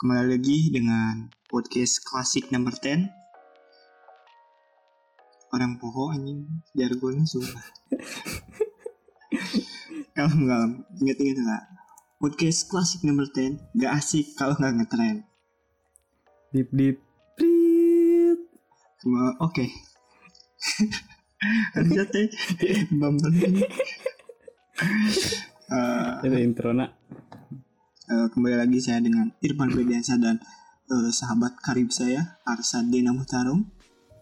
Kembali lagi dengan podcast klasik number 10. Orang poho anjing jargonnya sumpah. Kalem. Ingat enggak? Podcast klasik number 10 gak asik kalau gak ngetrend. Dip prit. Oke. Harusnya teh bambang ini. Itu intro nak. Kembali lagi saya dengan Irfan Febriansyah dan sahabat karib saya Arsadena Muhtarom.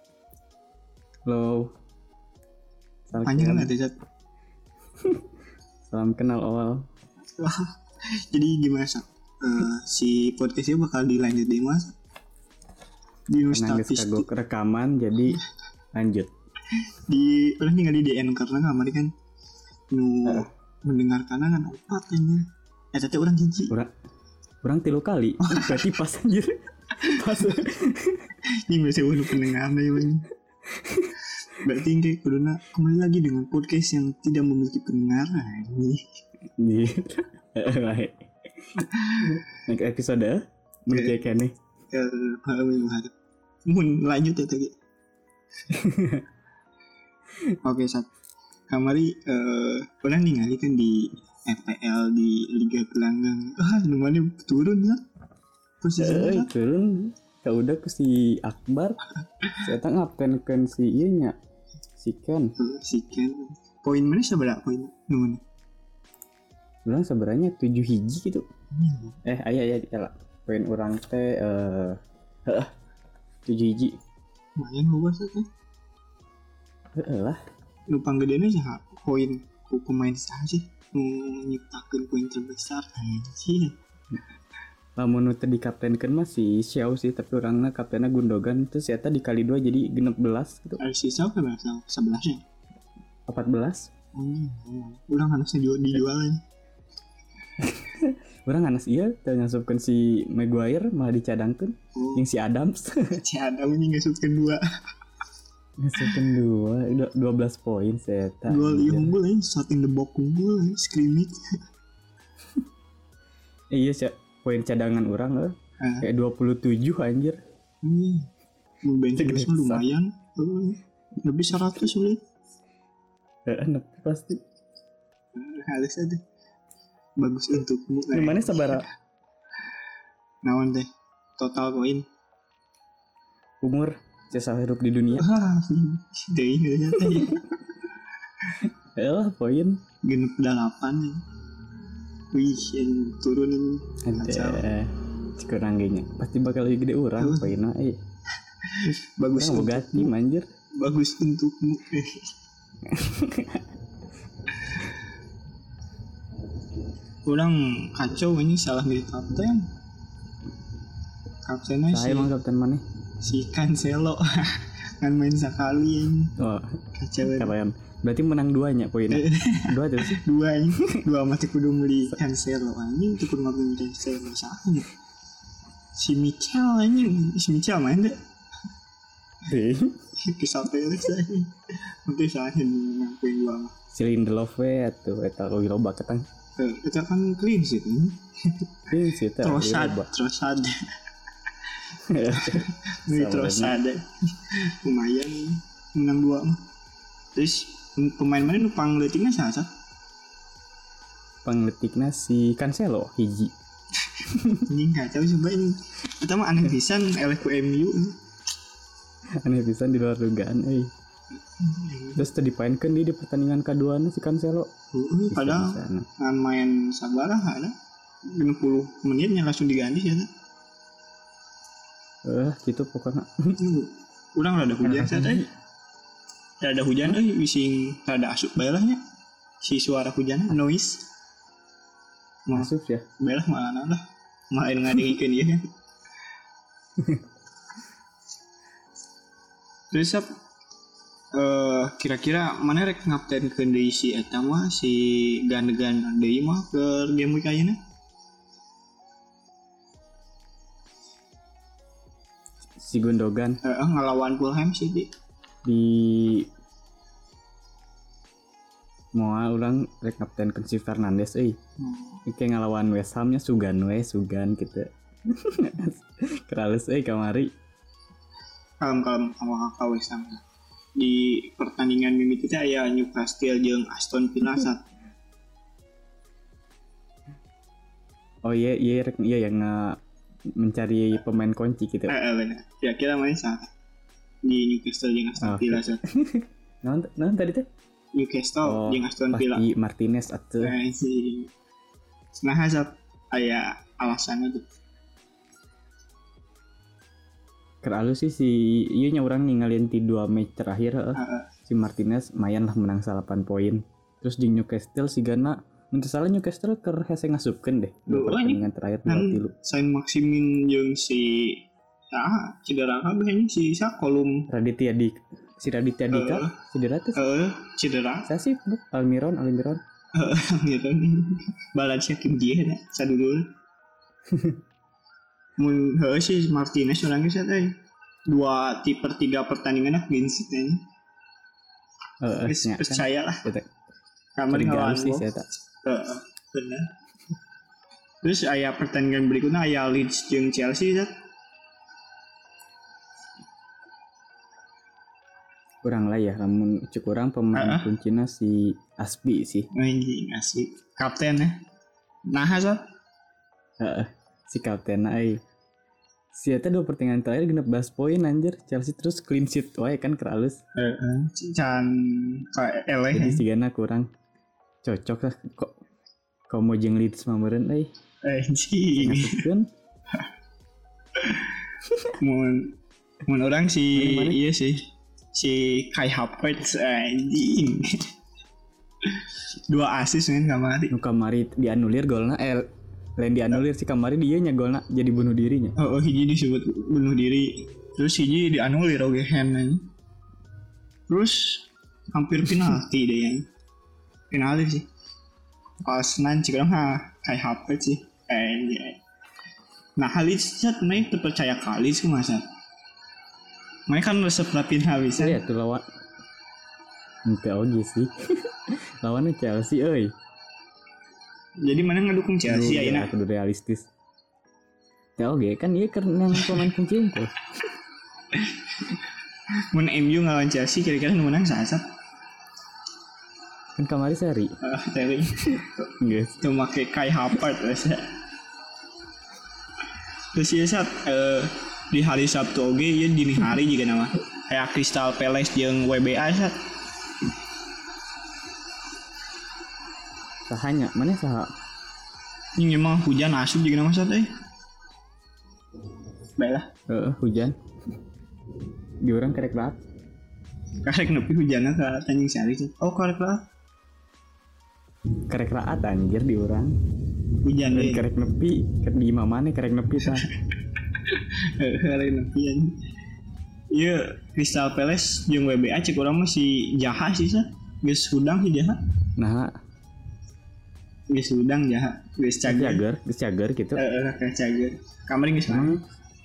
Halo. Panjang lah Zat. Salam kenal awal. Wah, jadi gimana Sat? Si podcastnya bakal dilanjut di mas? Di Nustatis kagok rekaman jadi lanjut. Di udah tinggal di DN karena kemarin kan mendengarkan kan opat ini. Tete orang jijik. Orang 3 kali. Berarti pas anjir. Pas. Ini masih udah pendengar ya bang. Berarti kayak kuduna kembali lagi dengan podcast yang tidak memiliki pendengar ini. Baik. Next episode mulai kayak nih. Mun lanjut ya tadi. Oke Sat. Kamari pernah ningali kan di FPL di Liga Gelanggang. Namanya turun ya. Posisinya turun. Ya udah ke si Akbar. Saya tak ngapten si iya nya. Si Ken. Poin mana seberapa poin? Nuhun. Bilang sebenarnya 7 hiji gitu. Aya lah. Poin orang teh 7 hiji. Lumayan luas tuh. Lah. Numpang gedenya sih poin ku pemain sah sih nyiptakeun poin terbesar anjir. Lamun nu teh dikaptenkeun mah si Xiao sih, tapi orangna kaptenna Gundogan terus eta dikali 2 jadi 16 gitu. Si Xiao kan 11 ya? 14. Urang harusnya dijualin. Urang anas ieu teh ngasupkeun si Maguire malah dicadangkeun jeung si Adams. Si Adam ini ngasupkeun 2. Ngasupkeun 12 poin saya. Gol unggul ya, shot in the box unggul ya, scrimmage. Iya sih, poin cadangan orang kayak 27 anjir. Bench lumayan. Lebih 100 boleh. Enak pasti. Halus aja. Bagus untukmu. Gimana sabara? Naon teh? Total poin. Umur sisa hidup di dunia. Deui ya teh. Elah poin genep 8 ya. Wih, yang turun ini. Ada kurang gengnya. Pasti bakal lebih gede orang poinnya. Bagus boga tim anjir. Bagus untukmu. Orang kacau ini salah milih kapten. Kaptennya saya emang kapten mana? Si Cancelo. Kan main sekali ini. Oh, kacau. Kalian. Berarti menang 2-nya poinnya. 2 tuh sih. 2 ini. 2 masih kudu beli Cancelo anjing, cukup ngabung Cancelo sahnya. Si Mikel anjing, si Mikel main deh. Kisah Peles anjing. Nanti sahin ngakuin 2. Si Lindelof tuh eta loba ketang. Itu kan clean sheet ini. Clean sheet Trossard. Ini Trossard. Lumayan menang 2 mah. Terus pemain mana numpang letiknya siapa? Pangletiknya si Cancelo hiji. Ini kacau coba ini. Pertama aneh pisan eleh ku MU. Aneh pisan di luar dugaan Terus tadi dipainkan di pertandingan kedua si Cancelo. Padahal kan main sabarah ada 60 menitnya langsung diganti ya. Gitu pokoknya. Urang rada hujan saja. Rada hujan bising rada asup baelahnya. Si suara hujan noise. Asup ya. Baelah malah lah. Main ngadengikeun ieu kan. Terus kira-kira mana rek ngaptenkeun deui si eta mah si Gandegan deui mah ke game week ayeuna? Si Gundogan ngelawan Fulham sih di mau orang rek kapten si Fernandes kayak ngelawan West Ham nya sugan gitu. Kerales kamari. Kalem sama kakak sama. Di pertandingan mimiti teh aya Newcastle jeung Aston Villa saat. Oh iya yang mencari pemain kunci gitu. Benar. Kira-kira main saat di Newcastle jeung Aston Villa saat. Non tadi teh Newcastle jeung Aston Villa. Pasti Martinez atuh. Si nah saat aya alasannya tuh. Keralu sih si iya nya orang ninggalin di 2 match terakhir si Martinez mayan lah menang 8 poin. Terus di Newcastle si Gana menurut salah Newcastle keur hese ngasupkeun deh. Pertandingan terakhir 2-3. Sain Maximin jeung si cedera kabeh si kolom Raditya Dika cedera tuh. Cedera. Saya sih Almiron. Gitu. Balasnya Kim Ji ada sadulur. Mun si Martinez orangnya saya 2/3 pertandingan clean sheet nya. Percaya lah. Kamari ngelawan sih saya tak. Benar. Terus aya pertandingan berikutnya aya Leeds jeung Chelsea ya. Kurang lah ya, namun kurang pemain kuncinya si Aspi sih. Anjing Aspi. Kapten ya. Nah, si kapten si eta 2 pertandingan terakhir 16 poin anjir. Chelsea terus clean sheet wae kan keralus. Can eleh. Jadi si Gana kurang cocok lah kok mau jeung Leeds mah meureun anjing. Mun orang si iya sih. Si Kai Havertz anjing. 2 assist kan kamari dianulir golna lain dianulir si kamari dia nya golna jadi bunuh dirinya. Hiji disebut bunuh diri. Terus hiji dianulir oge hand. Terus hampir penalti deh yang. Penalti sih. Pas nanti kan Kai Havertz sih. Nah Halis cat main terpercaya kali sih masa. Main kan resep rapin Halis. Iya tuh lawan. Ente oge sih. Lawannya Chelsea euy. Jadi mana ngedukung Chelsea ayeuna? Kudu realistis. Ya oke kan ieu karena pemain kunci itu. Mun MU ngelawan Chelsea kira-kira nu menang saha? Kan kamari seri. Seri. Geus. Tuh make Kai Havertz ya. Terus ieu di hari Sabtu oge ieu dini hari juga nama. Kayak Crystal Palace jeung WBA sat. Sahanya mana saha? Ini memang hujan asup juga nama sat Baiklah. Hujan. Di orang karek laat. Karek nepi hujanna ka Tanjung Sari sih. Oh karek laat. Karek laat anjir di orang. Hujan deui. Karek nepi, keur di imah maneh karek nepi tah. Karek nepi anjing. Ieu Crystal Palace jeung WBA cek urang mah si Jaha sih sah. Geus hudang si Jaha. Nah, geus hudang Jaha, geus cager gitu. Kayak cager. Kamari geus main.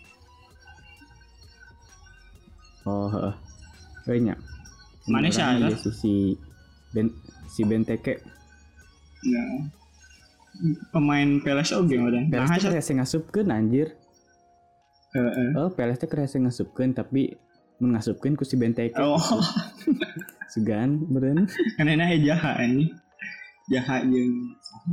Oh, banyak. Mana salah? Si Benteke. Ya. Pemain Palace oge udah. Palace teh kerasa ngasupkeun anjir. Palace teh kerasa ngasupkeun tapi mun ngasupkeun ku si Benteke. Oh. Sugan beureun. Kan enak Jaha ini. Jaha jeung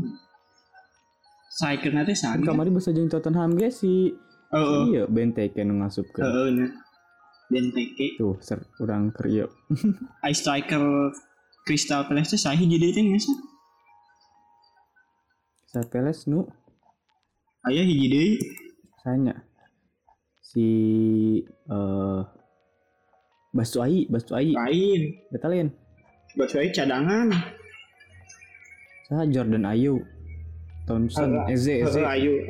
Saikeun teh saha? Kamari basa jeung Tottenham ge si iya Benteke nu ngasupkeun. Benteke tuh urang keur ieu. Ai striker Crystal Palace teh saha hiji deui teh nya sih? Crystal Palace nu aya hiji deui. Sanya. Si Batshuayi. Lain. Betalin. Batshuayi cadangan. Saha Jordan Ayew. Thompson, Eze. Ayew.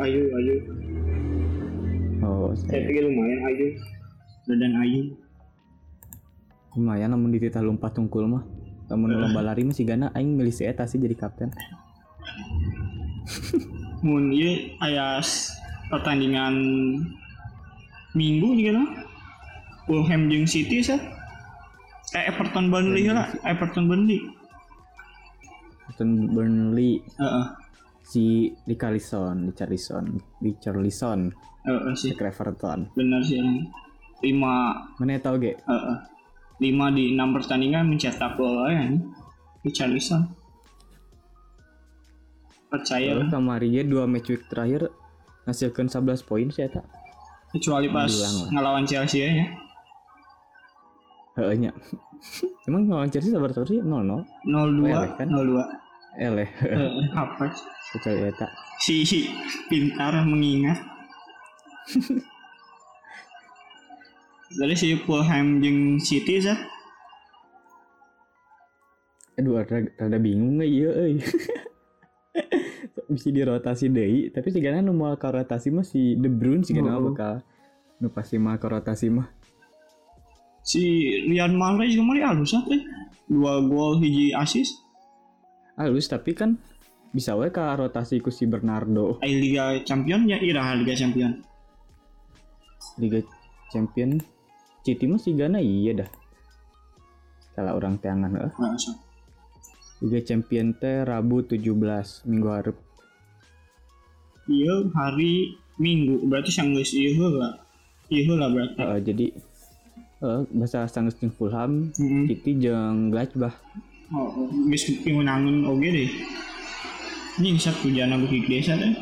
Oh, saya pikir lumayan Ayew. Dan Ayew. Lumayan namun dititah lompat tungkul mah. Lamun lomba lari mah si Gana aing milih si eta sih jadi kapten. Mun ieu aya pertandingan Minggu juga nah. Fulham jeung City sah. Everton Burnley. Si Richarlison sih. ke Everton. Benar sih. 5 Mana tahu ge? 5 di 6 pertandingan mencetak gol ya. Richarlison. Percaya lah. Kamari 2 match week terakhir ngasilkan 11 poin sih eta. Kecuali pas ngelawan Chelsea ya. Heeh nya. Emang ngelawan Chelsea sabar sih 0-0. 0-2 kan? 0-2. Apa? Kecuali eta. Si pintar mengingat. Dari si Fulham jeung City sah. Aduh rada bingung ya euy. Bisa dirotasi deui, tapi sigana nu moal ka rotasi mah si De Bruyne sigana bakal nu pasti mah ka rotasi mah. Si Riyad Mahrez kemarin halus teh. 2 gol 1 assist. Halus tapi kan bisa we ka rotasi ku si Bernardo. Liga Champion ya iraha Liga Champion. Liga Champion City mah sigana iya dah. Kalau orang teangan heuh. Liga Champion teh Rabu 17 minggu hareup. Iya hari Minggu berarti sanggeus ieu lah. Ieu lah berarti. Jadi bahasa sanggeus jeung Fulham, City jeung Gladbach. Geus pimenangan oge deh. Ini sak hujana beuki desa teh.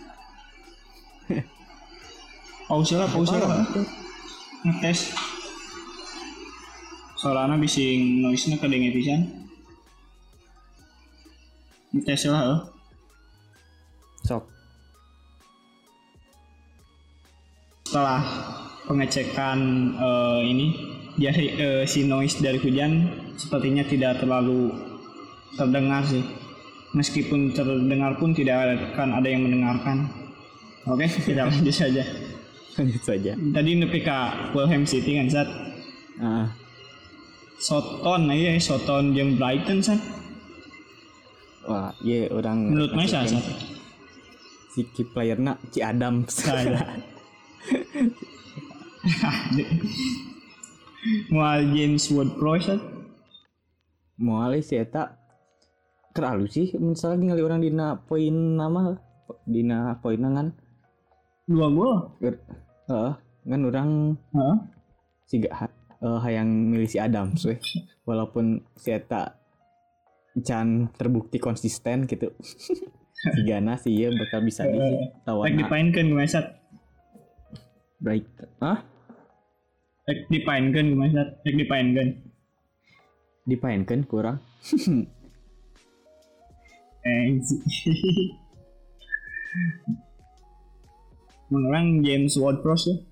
Pause lah. Ngetes. Soalnya bising noise-nya kedengen pisan. Ngetes lah. Sok. Setelah pengecekan ini dari si noise dari hujan sepertinya tidak terlalu terdengar sih. Meskipun terdengar pun tidak akan ada yang mendengarkan. Oke, kita lanjut saja. Tadi nepi ka Fulham City kan Sat. Soton jeung Brighton Sat. Wah, iya orang menurut Maisa Sat. Si key playerna Ci Adam saya. Mual James Ward-Prowse mual sih eta keralu sih misalnya ningali orang dina poin nama dina poin kan 2 gol kan orang siga hayang milih si Adams we walaupun si eta can terbukti konsisten gitu sigana sih ya bakal bisa ditawan dipainkan gimana baik dipainkan kurang menurang James Ward-Prowse ya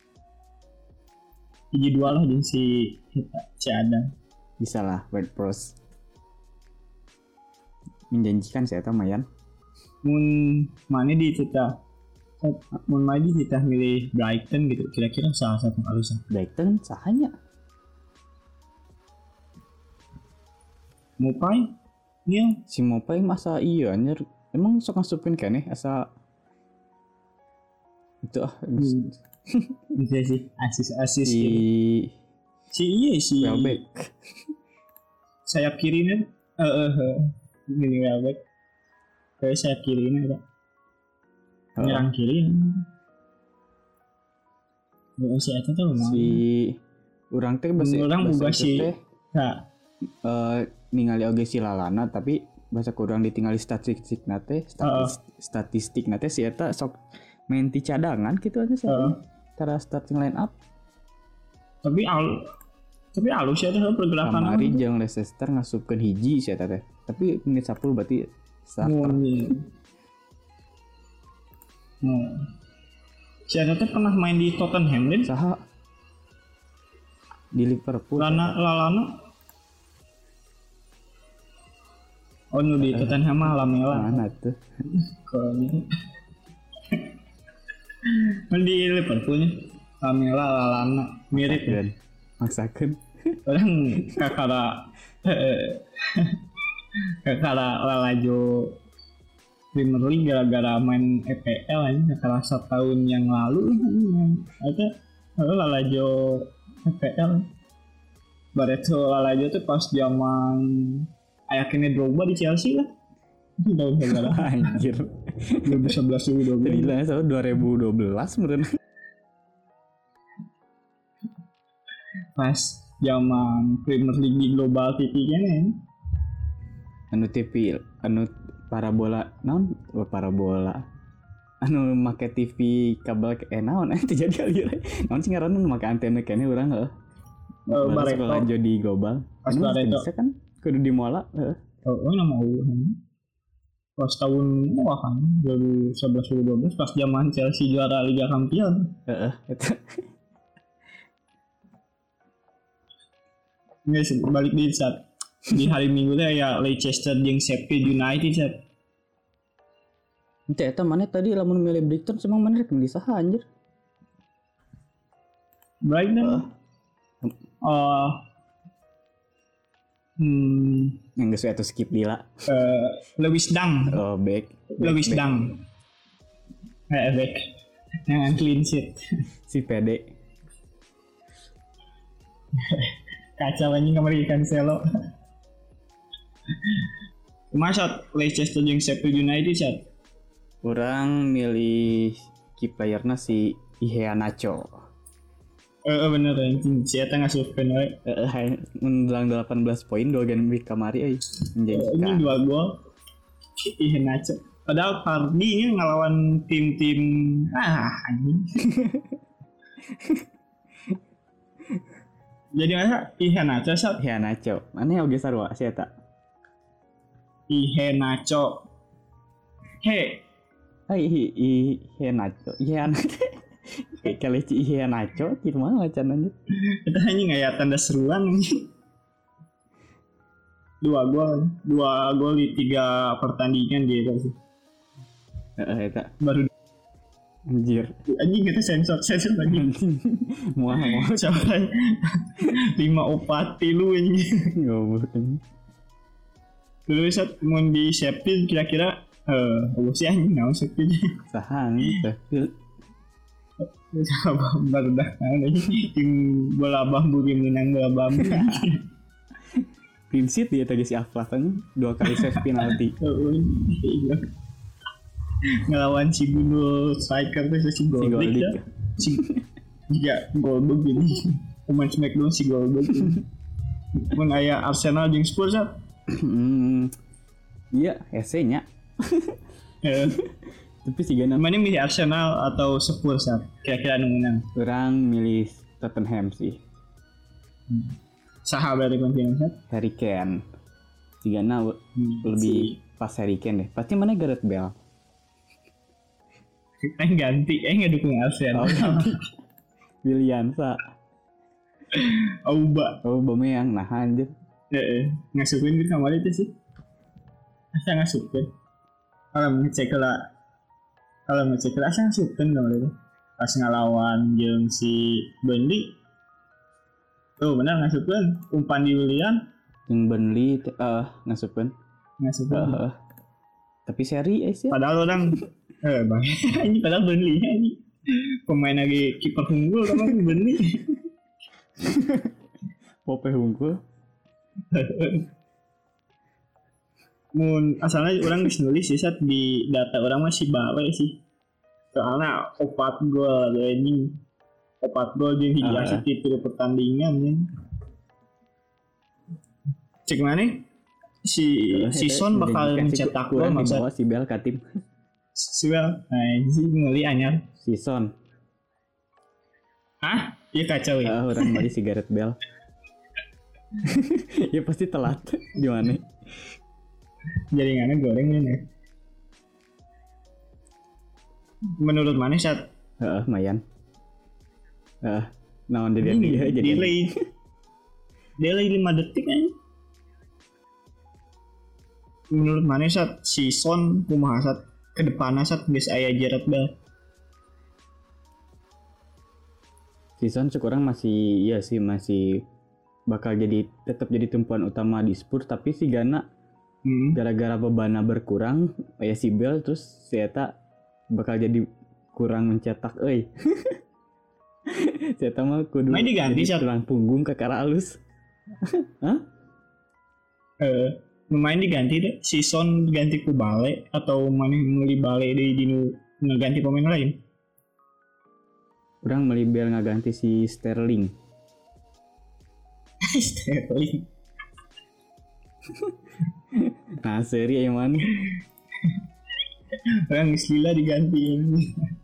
hiji 2 lah jeung si Adam bisa lah Ward-Prowse menjanjikan saya mayan mun mana di kita milih Brighton gitu kira-kira salah satu alasan Brighton sahanya Mopai iya si Mopai masa iya anjir emang sok ngasupin kan asa itu bisa sih asis si iya si Welbeck sayap kiri nih ini Welbeck kayak sayap kiri nih ada nyerang kiri si eta tuh si urang teh urang boga si ningali oge si lalana tapi bahasa kurang ditinggali statistik nate si eta sok main ti cadangan gitu aja sih cara starting line up tapi alus ya tuh pergerakan kamari jeung Leicester ngasupkeun hiji si eta teh tapi menit 10 berarti starter si eta teh pernah main di Tottenham kan saha di Liverpool lalana nu di Tottenham mah Lamela mana tuh kalau ini di Liverpool nya Lamela lalana mirip kan maksakeun orang kakara lalajo Premier League gara-gara main EPL aja kakara setahun yang lalu ada lalajo EPL Barreto lalajo tuh pas zaman ayaknya Drogba di Chelsea lah Tahun berapa? Anjir. 2011 Tadi 2012. lah so 2012 meren. Pas zaman Premier League di Global TV kan ya. Anu TV anu parabola naon parabola anu make TV kabel naon jadi kali naon sih ngaranna make antena kene urang heuh Barreto sekolah jodi global pas anu Barreto bisa kan kudu di mola heuh nama pas tahun kan 2011 2012 pas zaman Chelsea juara Liga Champions. heeh eta Guys, balik di saat di hari Minggu teh ya Leicester jeung Sheffield United saat. Ente eta mana tadi lamun milih Brighton semang mana rek milih saha anjir? Brighton. Yang geus eta skip dila. Lewis Dang. Oh, back. Lewis Dang. Back. Yang clean sheet. Si PD. Kacau anjing kamar ikan selo. Masa Leicester jeung Sheffield United saat. Orang milih key playerna si Iheanacho. Bener anjing si eta ngasupkeun we. Menang 18 poin 2 game week kamari euy. Ini 2 gol. Iheanacho. Padahal Pardi ini ngelawan tim-tim anjing. Jadi masa Iheanacho saat. Iheanacho. Mana oge sarua si eta? Iheanacho. Iheanacho. Kali ci Iheanacho kieu mah macan anjir. Eta anjing aya tanda seruan anjing. 2 gol di 3 pertandingan gitu sih. Eta Baru anjir. anjing kita sensor lagi. Muah Sampai 5-4 lu anjing. goblok. Dulu saat mau di Sheffield kira-kira sih anjing naon Sheffield. Sahang Sheffield. Baru dah tim bola bambu game menang bola bambu. Clean sheet dia tadi si Aflaf kan 2 kali save penalti. Ngelawan si Bundo striker tuh si Goldberg ya. Jika Goldberg jadi pemain Smackdown si Goldberg. Mun aya Arsenal jeung Spurs ya. Iya, nya. Tapi sih gana. Mana milih Arsenal atau Spurs ya? Kira-kira anu menang. Orang milih Tottenham sih. Saha berarti konfirmasi? Harry Kane. Sigana lebih pas Harry Kane deh. Pasti mana Gareth Bale. Ganti, ngedukung Arsenal. Williansa. Aubameyang, nah anjir. Ngasukin gitu sama itu sih. Asa ngasukin. Kalau ngecek lah asa ngasukin sama itu. Pas ngelawan jeung si Burnley. Tuh benar ngasukin. Umpan di Willian. Yang Burnley ngasukin. Tapi seri sih. Padahal orang bang, ini padahal Burnley ini pemain lagi kiper unggul kan Burnley. Pope unggul. Mun asalnya orang nulis sih saat di data orang masih bawa sih. Soalnya 4 gol ini 4 gol jeung hiji asis di 3 pertandingan ya. Cek mana? Si Son bakal mencetak gol maksud si Bel ka tim. Si Bel. Nah, ini ngeli anyar. Si Son. Hah? Iya kacau ya. Orang bari si Gareth Bale. Ya pasti telat di mana? Jaringannya goreng ini. Menurut mana saat? Mayan. Naon dia jadi delay 5 detik aja. Menurut mana saat si Son kumaha saat ke depanna saat geus aya Gareth Bale? Season sekurang masih bakal tetap jadi tumpuan utama di Spurs, tapi si Gana gara-gara bebannya berkurang ya si Bell terus si Eta bakal jadi kurang mencetak si Eta mah kudu diganti tulang punggung ke kara alus. Hah? Lumayan diganti deh. Si Son ganti ku Bale atau mana meuli Bale deui dinu ngeganti pemain lain. Orang meuli biar ngaganti si Sterling. Sterling. Nah, seri yang mana? Orang gila diganti ini.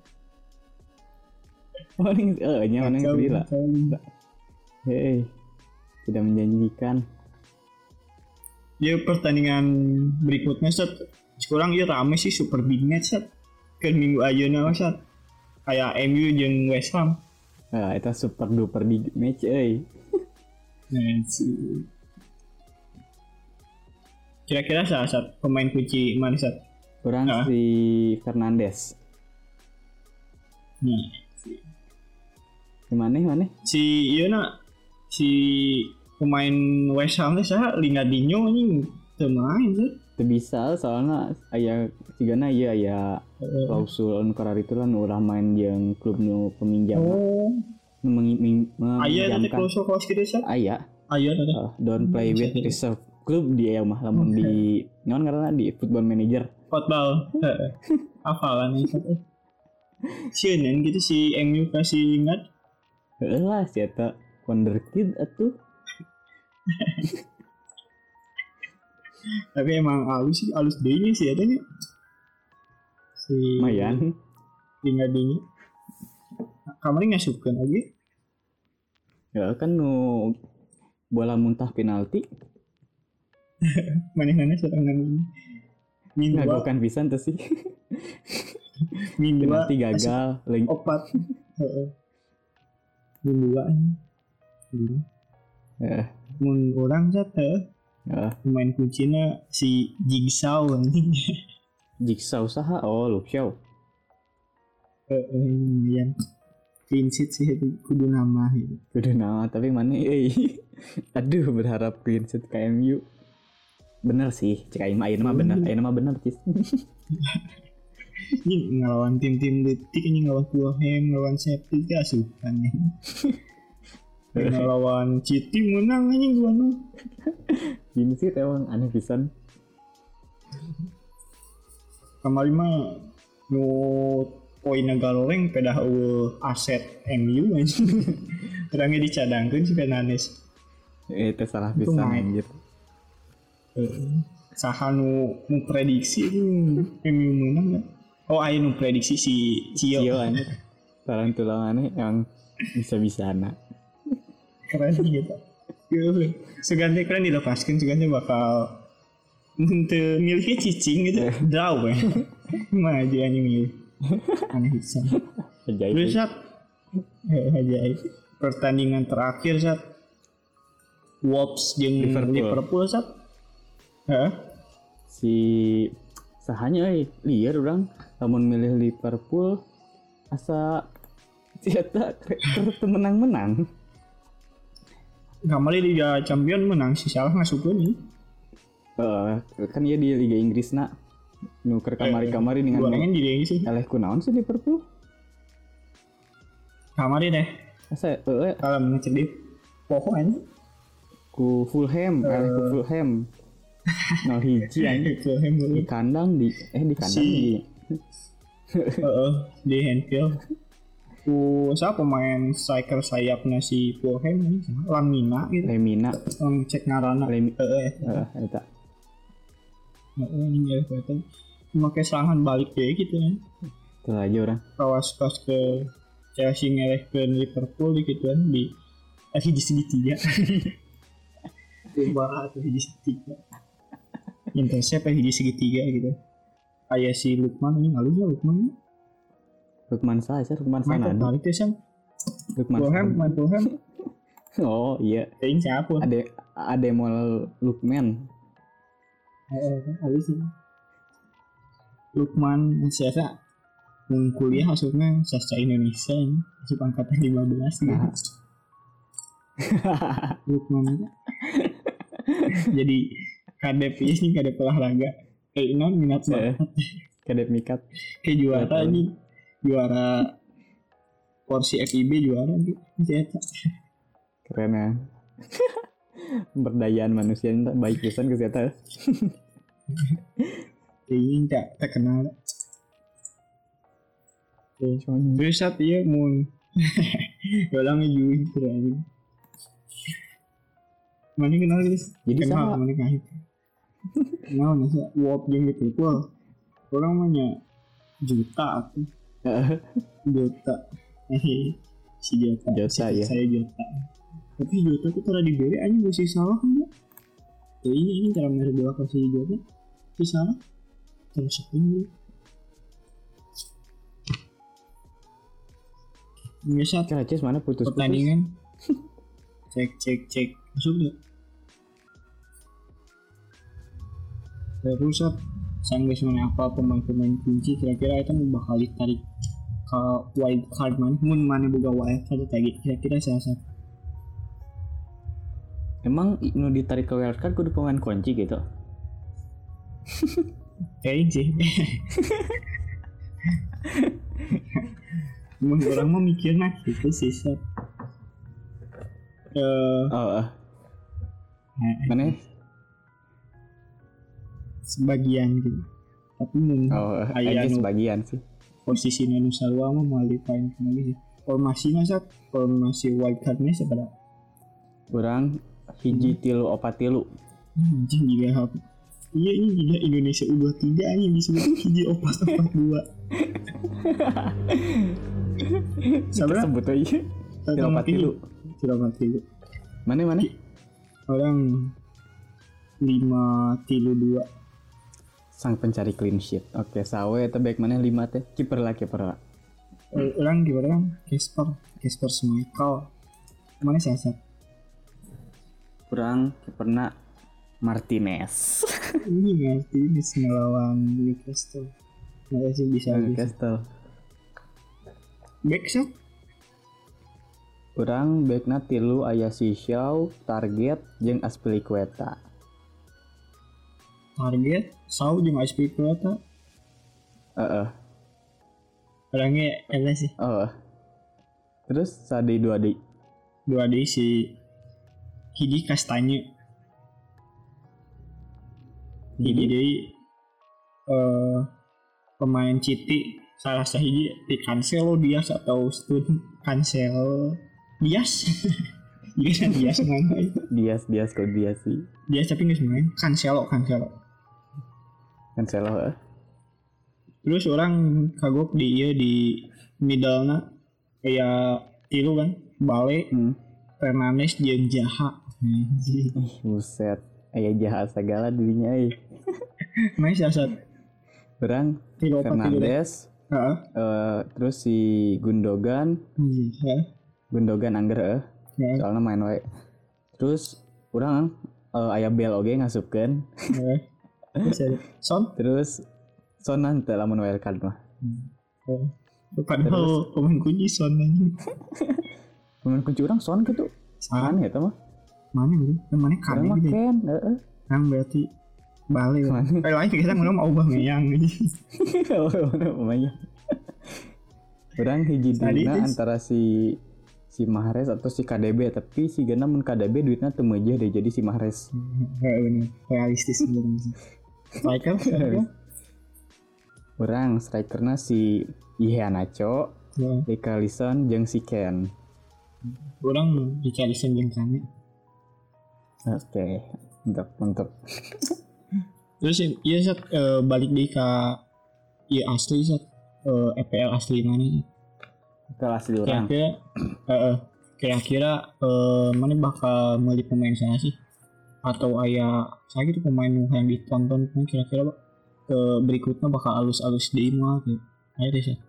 Mana yang gila? Hei, tidak menjanjikan. Ya pertandingan berikutnya set sekarang ya rame sih super big match set ke minggu ayeuna set kayak MU jeung West Ham. Nah, itu super duper big match Nah, kira-kira saat pemain kunci mana set? Kurang si Fernandes. Mana? Si pemain West Ham teh saha Lingardinho ini teu main sih. Teu bisa soalnya aya cigana ieu aya klausul anu karar itu lan ulah main jeung klub nu peminjam. Aya teh klausul kitu sih. Aya teh. Don't play with reserve klub dia mah lamun di naon ngaranna di Football Manager. Football. Hafalan itu. Sieun gitu si MU kasih ingat. Heuh lah si eta wonderkid atuh. Tapi emang halus deh sih adanya si Mayan tinggal dini kemarin ngasupkan lagi ya kan nu bola muntah penalti mana serangan ini ngagokan pisan tuh sih penalti gagal opat mingguan mun orang jatuh pemain kuncinya si Jigsaw anjing. Jigsaw saha? Oh, Luke Shaw. Yang clean sheet sih itu kudu nama gitu. Kudu nama tapi mana aduh berharap clean sheet ke MU. Bener sih, cek aing mah bener cis. Ini ngelawan tim-tim detik ini ngelawan Fulham, ngelawan Sheffield gak asupan nih. Ngelawan City menang anjing gimana? Gini sih emang aneh pisan. Kemarin mah nu poinna galoreng pedah aset MU anjing. Terangnya dicadangkeun si Fernandes. Itu salah pisan anjir. Saha nu prediksi MU menang enggak? Oh, aya nu prediksi si Cio anjir. Tulang-tulangannya emang bisa-bisana. Keren gitu. Seganti keren dilepaskan, seganti bakal milihnya cicing gitu, draw ya. Mana aja yang milih, aneh pisan. Terus saat ajaib pertandingan terakhir saat Wolves jeung Liverpool saat, si sahanya liar orang, namun milih Liverpool asa ternyata menang-menang. Kemarin Liga Champion menang si salah ngasupkeun nih. Kan dia di Liga Inggris nak nuker kamari dengan gorengan di Liga Inggris. Eleh kunaon sih Liverpool? Kamari deh. Asa kalau ngecek di pohon ku Fulham, ku Fulham. No hiji anjing Fulham di kandang di di Anfield. Siapa pemain striker sayapnya si Fulham ini? Lemina gitu. Lemina. Cek ngarana. Eta. Ini ya kelihatan. Memakai serangan balik deh gitu kan. Itu aja orang. Kawas ke Chelsea ngelehkeun Liverpool gitu kan di hiji segitiga. Coba atau hiji segitiga. Intercept hiji segitiga gitu. Kayak si Lukman ini halus ya Lukman. Lukman sana. Balik tuh Sam. Lukman Fulham. Oh iya. Ini siapa? Ada model Lukman. Halus sih. Lukman siapa? Kuliah maksudnya sastra Indonesia ini. Masuk angkatan 15 gitu. Lukman. Jadi kadep ini kadep olahraga. Non minat banget. Kadep mikat. Kayak juara nih. Juara porsi FIB juara gitu. Keren ya. Pemberdayaan manusia ini baik pisan ke eta. Ini tak terkenal. Terus saat iya mun orang ngejuin keren. Mana kenal guys? Jadi kenal sama. mana kahit. Kenal masa wop jeung gitu pul. Orang mah juta aku. Juta. Si juta. Juta ya. Saya juta. Tapi juta tuh cara diberi aja masih salah enggak? Ya ini cara mereka kasih juta. Si salah. Terus ini. Biasa Keracis mana putus pertandingan. Cek masuk gak? Terus sanggup mana apa pemain-pemain kunci kira-kira itu bakal ditarik ke wild card mana boga wild card tadi kira-kira siapa? Emang nu ditarik ke wild card kudu pemain kunci gitu. Kayaknya sih. Orang mau mikirnya gitu sih Sat. Mana? Sebagian gitu. Tapi mun aja sebagian sih. Posisi Nusa Dua mah mau dipain lagi sih. Formasi wild card-nya seberapa? Kurang hiji tilu opat tilu. Anjing juga apa? Iya ini juga Indonesia U23 aja disebut hiji opat 42. Sabar sebut aja. Tilu opat tilu. Mana? Orang 5-2. Sang pencari clean sheet. Oke, sawe eta baik mana 5 teh. Kiper lah. Orang gimana kan? Casper Schmeichel. Mana saya? Kurang kiperna Martinez. Ini Martinez ngelawan Newcastle. Nggak sih bisa Newcastle. Back shot. Kurang backna tilu aya si Shaw, Target jeung Azpilicueta. Target, Shaw jeung Azpilicueta. Orangnya elah sih. Terus sadi 2D. 2D si Hidi Kastanya. Hidi deui pemain Citi salah sahiji di Cancelo Dias atau Stun Cancelo Dias. Dias mana? Dias kok Dias sih. Dias tapi nggak main. Cancelo. Terus orang kagok di middle-na kayak tilu kan, Bale, Fernandes jeung Zaha. Buset, aya Zaha segala dirinya Main siasat. Orang Fernandes. Terus si Gundogan. Gundogan angger soalnya main wae. Terus orang aya Bell oge ngasupkeun. Terus Son teh lamun wild card mah. Padahal pemain kunci Son aja. Pemain kunci orang Son gitu. Mana eta mah? Mana gitu? Mana kan gitu. Kan berarti Bale. Lain kita ngomong mau Aubameyang gitu. Aubameyang. Orang hiji dina antara si Mahrez atau si KDB, tapi si Gana mun KDB duitnya teu meujeuh deh jadi si Mahrez. Bener, realistis sebenarnya. Striker Orang strikerna si Iheanacho, Richarlison jeung si Ken. Orang Richarlison jeung Kane. Oke, mantap. Terus iya Sat balik deui ka ieu asli Sat EPL asli mana? EPL asli orang. Kira-kira mana bakal meuli pemain sana sih? Atau aya saya gitu pemain yang ditonton kira-kira berikutnya bakal alus-alus di mah gitu. Ayo deh sih.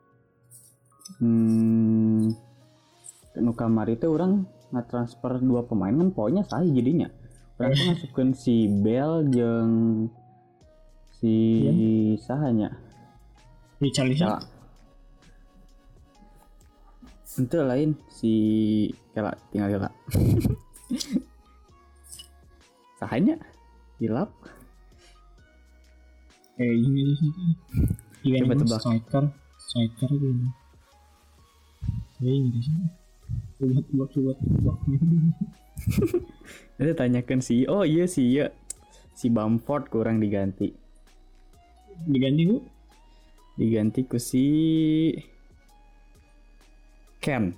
Nu kamari teh urang ngatransfer 2 pemain kan poinnya sahih jadinya. Urang teh masukkeun si Bell jeung si sahanya. Richarlison. Itu lain si Kela tinggal sahanya hilap. Ini sih. Coba tebak. Striker gini. Ini sih. Coba tebak. Jadi tanyakan si oh iya si iya si Bamford kurang diganti ku si Ken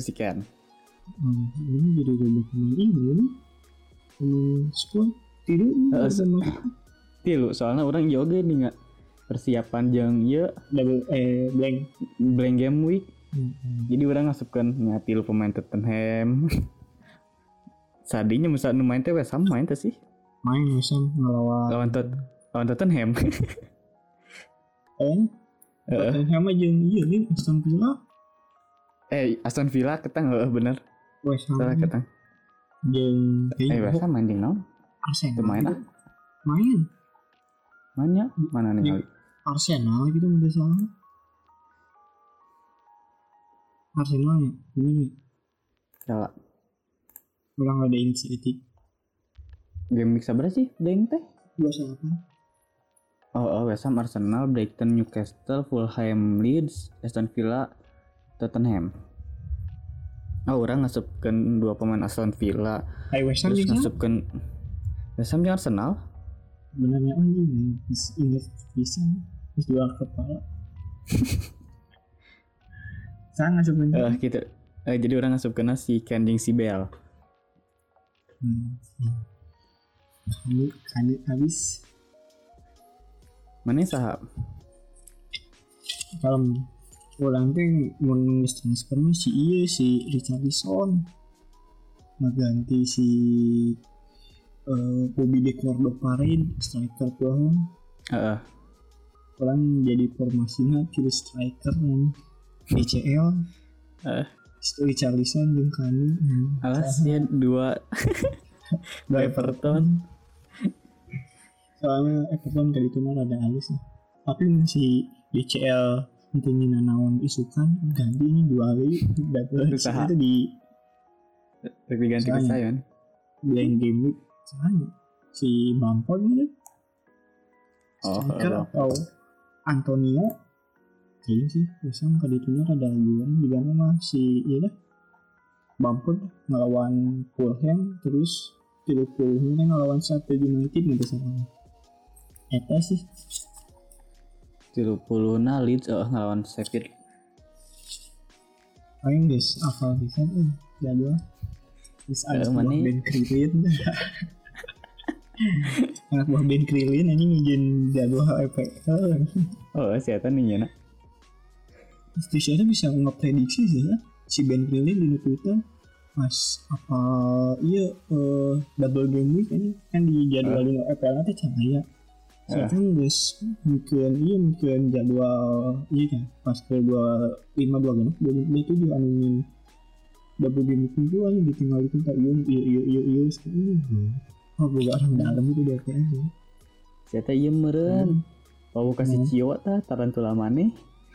Ini jadi robot pemain ini squad tidur tilu soalnya orang yoga nih nggak persiapan jeung ya blank game week. Jadi orang ngasupkan ngatilu pemain Tottenham. Sadinya misalnya main teh West Ham main teh sih. Main West Ham lawan Tottenham. Tottenham aja iya nih Aston Villa. Aston Villa ketang bener. West Ham. Salah ketang. Jeung West Ham main jeung naon? Arsenal. Mainnya mana nih kali? Arsenal gitu udah salah. Arsenal ya, ini salah. Ulang ada inisiatif. Game week sabar sih, deng teh? 28. West Ham, Arsenal, Brighton, Newcastle, Fulham, Leeds, Aston Villa, Tottenham. Orang ngasupkan 2 pemain Aston Villa. West Ham terus ngasupkan West Ham jeung Arsenal. Benernya anjing, ingat bisa, terus 2 kepala. Saya ngasupkan. Gitu. Jadi orang ngasupkan si Ken jeung si Bell. Kanit habis. Mana sahab? Kalau orang teh mau transfernya si Richarlison ngeganti si Bobby De Cordova-Parin striker tuh. Orang jadi formasinya kiri striker yang DCL. Richarlison jeung Kani. Alasnya 2 Everton. Soalnya Everton kali itu mah rada halus ya. Tapi masih DCL intinya naon isukan ganti ini 2 kali dapat itu di lebih ganti ke saya nih. Blank game week soalnya si Bamford gitu. Atau Antonio kayaknya sih biasanya kali itu ada jualan di mana mah si iya dah Bamford ngelawan Fulham terus Liverpool ngelawan Sheffield United nggak salah. Eta sih 30 Leeds ngelawan Sheffield. Paling guys akal bisa jadwal terus ada Ben Krillin. Anak buah Ben Krillin anjing ngijin jadwal EPL. Siapa nih ya nak? Stisha bisa ngeprediksi sih ya si Ben Krillin di Twitter mas apa iya double game week ini kan di jadwalin EPL nanti cahaya saya guys mungkin jadwal iya kan pas ke 25 itu juga animin double game week itu aja ditinggal itu tak iya sekali bukan orang dalam itu dia kayaknya siapa iya meren mau kasih cio ta tarantula maneh.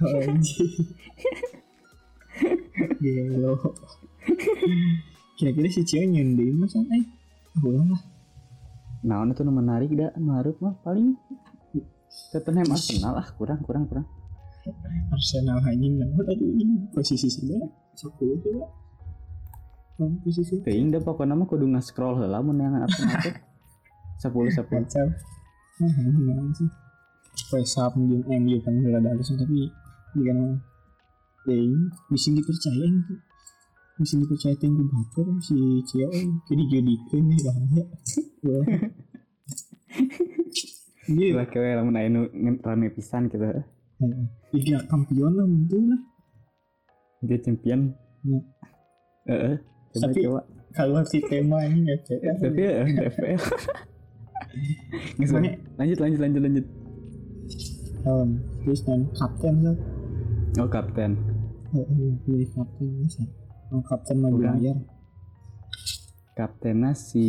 Gelo. Kira-kira si Cio nyending masa ulang lah. Nah, itu menarik dah, marut mah paling Tottenham Arsenal kurang. Arsenal anjing dapat ini posisi sebelah 10 coba. Posisi. Teuing da pokona mah kudu nge-scroll heula mun yang Arsenal teh. 10. Kacau. Sih. West Ham jeung MU kan udah ada tapi gimana? Bisa dipercaya tinggi baper si Cio jadi jadikan nih bahaya. Dia lah kayak lamun aya nu rame pisan gitu. Liga Kampion lah betul lah. Liga Champion. Coba. Kalau si tema ini enggak cek. Tapi FPL. Lanjut. Terus kan kapten lah. Kapten. Pilih kapten bisa. Kapten mau bayar. Kaptennya si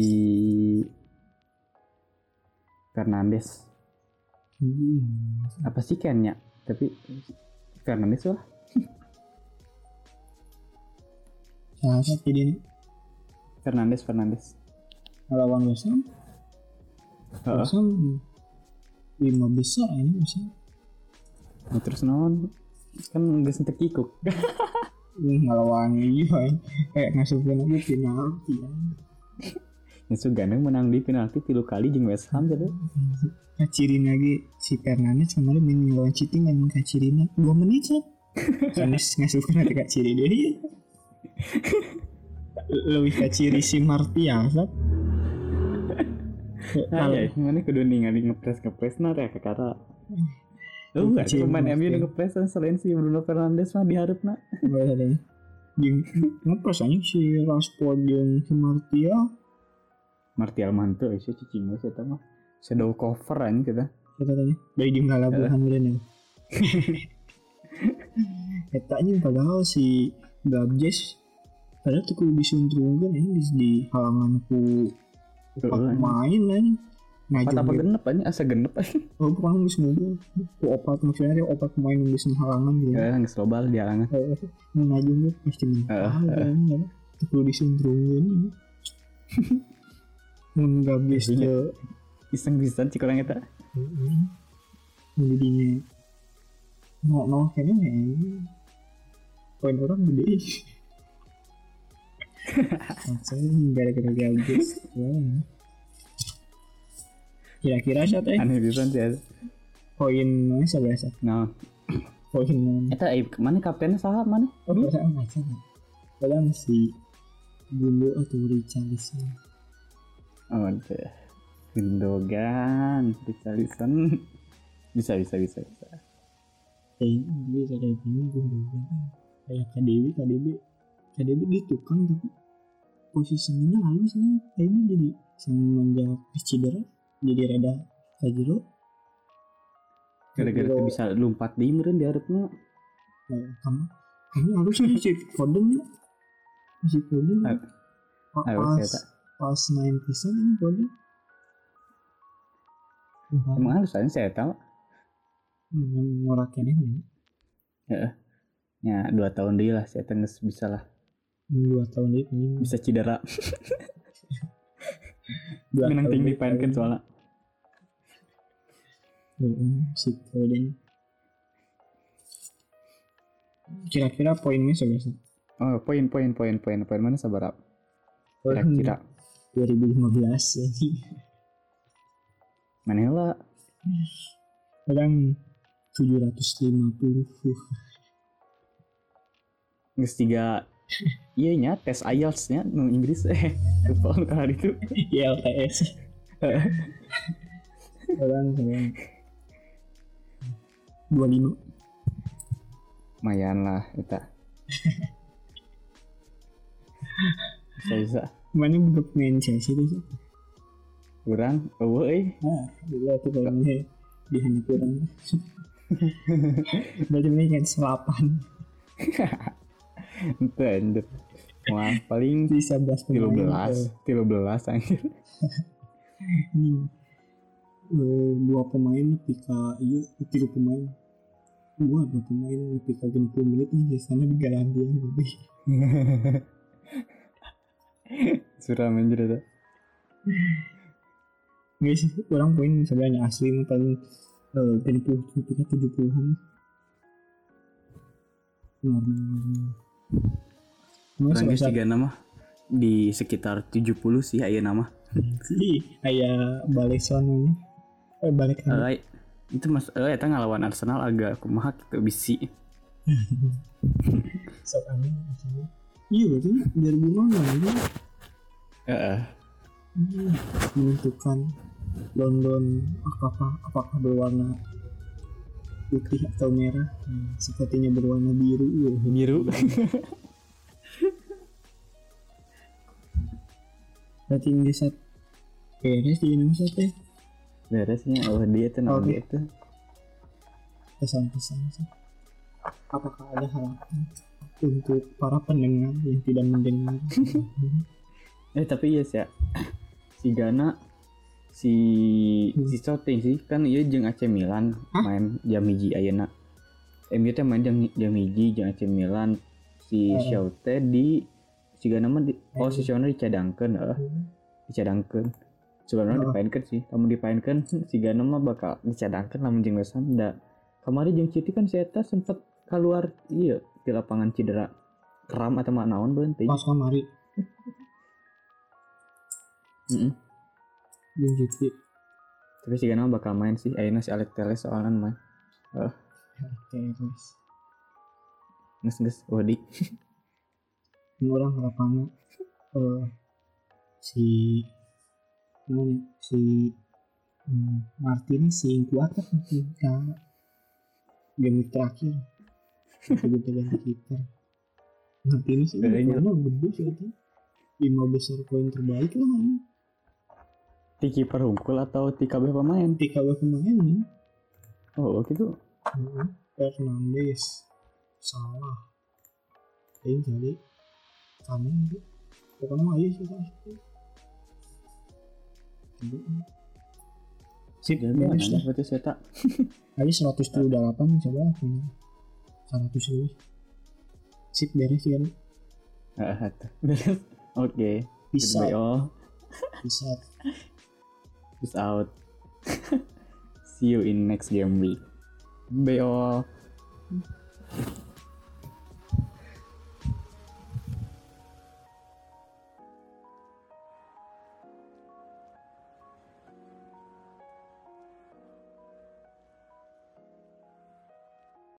Fernandes. Apa sih Ken-nya? Tapi Fernandes lah. Siapa jadi ini? Fernandes. Lawan West Ham. West Ham 5 besar ini bisa. Terus non kan nggak sentek kikuk. Ngelawan iya masukin lagi penalti ya. Itu Gana menang di penalti 3 kali jeung West Ham gitu. Kacirin lagi si Fernandes kemarin main lawan cheating kan kacirinnya 2 menit sih. Sanes ngasukeun ati kaciri deui. Lebih kaciri si Martial kan. Ya, mana kudu ningali ngepres na teh kakara. Enggak pemain MU ngepres selain si Bruno Fernandes mah diharapna. Jeung ngepres anjing si Rashford jeung si Martial mantu sih cicing we eta mah. Shadow cover anjing kita. Katanya dari jeung ngalabuhan meureun. Eta anjing padahal si Gabjes padahal tuh kudu disuntrungkeun anjing di halangan ku pemain anjing. Nah, apa genep anjing asa genep anjing. Oh, pemain geus ngumpul. Ku opat maksudnya opat pemain geus halangan gitu. Ya, geus lobal di halangan. Nu najung pasti mental. Tuh kudu disuntrungkeun. Mun Gabjes teh iseng pisan cik urang eta. Jadinya no kayaknya poin orang gede. Langsung gara-gara Gabjes. Kira-kira siapa aneh pisan sih. Poin mana seberapa? Nah. Poin eta mana kaptennya saha mana? Oh, perasaan macam. Padahal si Gundo atau Richarlison. Oh, deh. Gundogan, Richarlison. Bisa. Bisa dari ini Gundogan. Kayak KDB gitu kan tapi posisinya halus nih. Kayaknya jadi semenjak cedera jadi rada kajero. Gara-gara bisa lompat di meureun diharapna. Kamu harusnya si Foden ya. Si Foden. Pas 9 pisan ini Foden. Emang harus aja saya tahu. Ngorakeun ini. Heeh. Ya 2 tahun deui lah saya geus bisa lah. 2 tahun deui bisa cedera. Menang ting dipainkeun soalnya. Si Foden. Kira-kira poinnya seberapa? Oh, poin mana sabaraha? Kira-kira 2015 jadi. Mana lah? Kadang 750. Geus 3 iya nya tes IELTS nya nu Inggris lupa kalau itu IELTS. Kadang 25. Lumayan lah eta. Bisa. Mana budak main Chelsea itu? Kurang, eueuh Dulu tuh kayaknya di hanya kurang. Berarti ini kan 8. Ente. Wah, paling bisa 13 anjir. Dua pemain pika iya 3 pemain. Dua pemain pika 20 menit nih sana di garantian lebih. Suram anjir eta. Nggak sih, orang poin sebenarnya asli paling 70-an. Orang guys 3 nama di sekitar 70 sih aya nama. Aya Baleson balik lagi. Itu mas eta ngalawan Arsenal agak kumaha gitu bisi. Sok aneh maksudnya. Iya berarti 2015 gitu. Menentukan London apakah berwarna putih atau merah. Sepertinya berwarna biru. Berarti ini set beres di Indonesia teh. Beresnya dia tuh namanya itu. Pesan-pesan sih. Apakah ada harapan untuk para pendengar yang tidak mendengar? Tapi yes ya. Si Gana si Shooting sih kan ieu jeung AC Milan main jam 1 ayeuna. MU teh main jam 1 jeung AC Milan. Si Shoote di si Gana mah si Shoote dicadangkeun dicadangkeun. Sebenarnya dipainkeun sih. Lamun dipainkeun si Gana mah bakal dicadangkeun lamun jeung West Ham da. Kamari jeung Citi kan si eta sempet keluar ieu di lapangan cedera kram atau naon beunteuing. Pas kamari. Jeung City. Tapi si Gana bakal main sih. Ayeuna si Alex Telles soalnya main. Terus Nges Wadik. orang harapannya si Martinez si kuat kan game terakhir kita ganti kiper. Martinez ini gede sih itu 5 besar poin terbaik lah. Ti kiper hungkul atau ti kabeh pemain? Ti kabeh pemain nih. Oh gitu. Fernandes, Salah, ini jadi kami itu pokoknya mah aja sih sip beres lah berarti saya tak aja 178 coba punya 100 lebih sip beres ya beres oke peace out peace out see you in next game week bye all